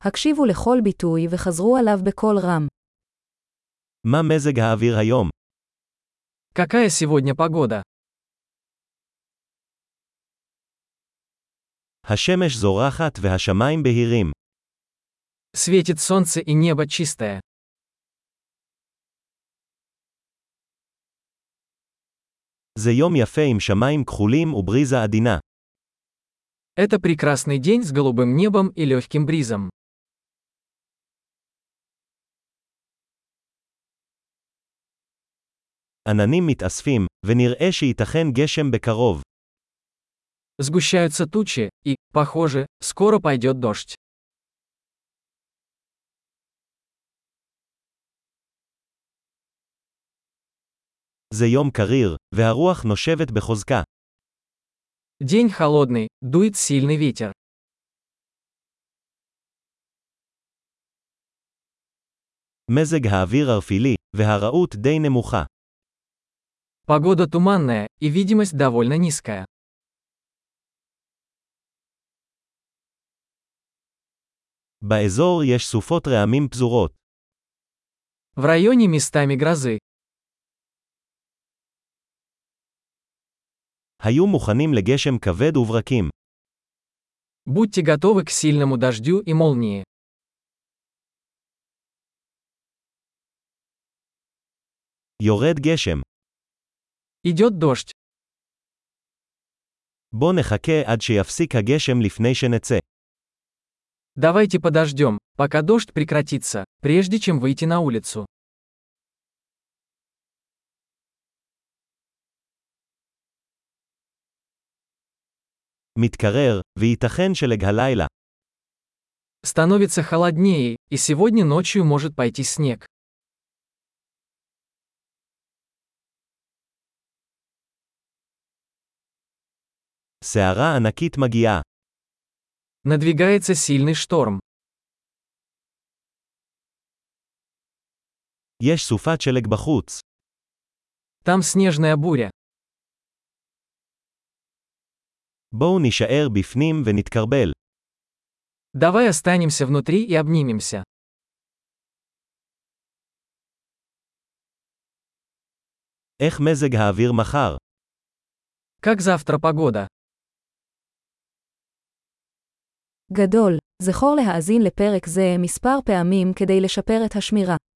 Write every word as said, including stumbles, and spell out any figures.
הקשיבו לכל ביטוי וחזרו עליו בקול רם. מה מזג האוויר היום? Какая сегодня погода? השמש זורחת והשמיים בהירים. Светит солнце и небо чистое. זה יום יפה עם שמיים כחולים ובריזה עדינה. Это прекрасный день с голубым небом и легким бризом. עננים מתאספים, ונראה שייתכן גשם בקרוב. Сгущаются тучи, и, похоже, скоро пойдет дождь. זה יום קריר, והרוח נושבת בחוזקה. День холодный, дует сильный ветер. מזג האוויר ערפילי, והרעות די נמוכה. Погода туманная, и видимость довольно низкая. באזור יש סופות רעמים פזורות. В районе местами грозы. היו מוכנים לגשם כבד וברקים. Будьте готовы к сильному дождю и молнии. יורד גשם. Идет дождь. בוא נחכה עד שיפסיק הגשם לפני שנצא. Давайте подождем, пока дождь прекратится, прежде чем выйти на улицу. מתקרר, וייתכן שלג הלילה. Становится холоднее, и сегодня ночью может пойти снег. סערה ענקית מגיעה. Надвигается сильный шторм. יש סופת שלג בחוץ. Там снежная буря. בואו נישאר בפנים ונתקרבל. Давай останемся внутри и обнимемся. איך מזג האוויר מחר? Как завтра погода? גדול, זכור להאזין לפרק זה מספר פעמים כדי לשפר את השמירה.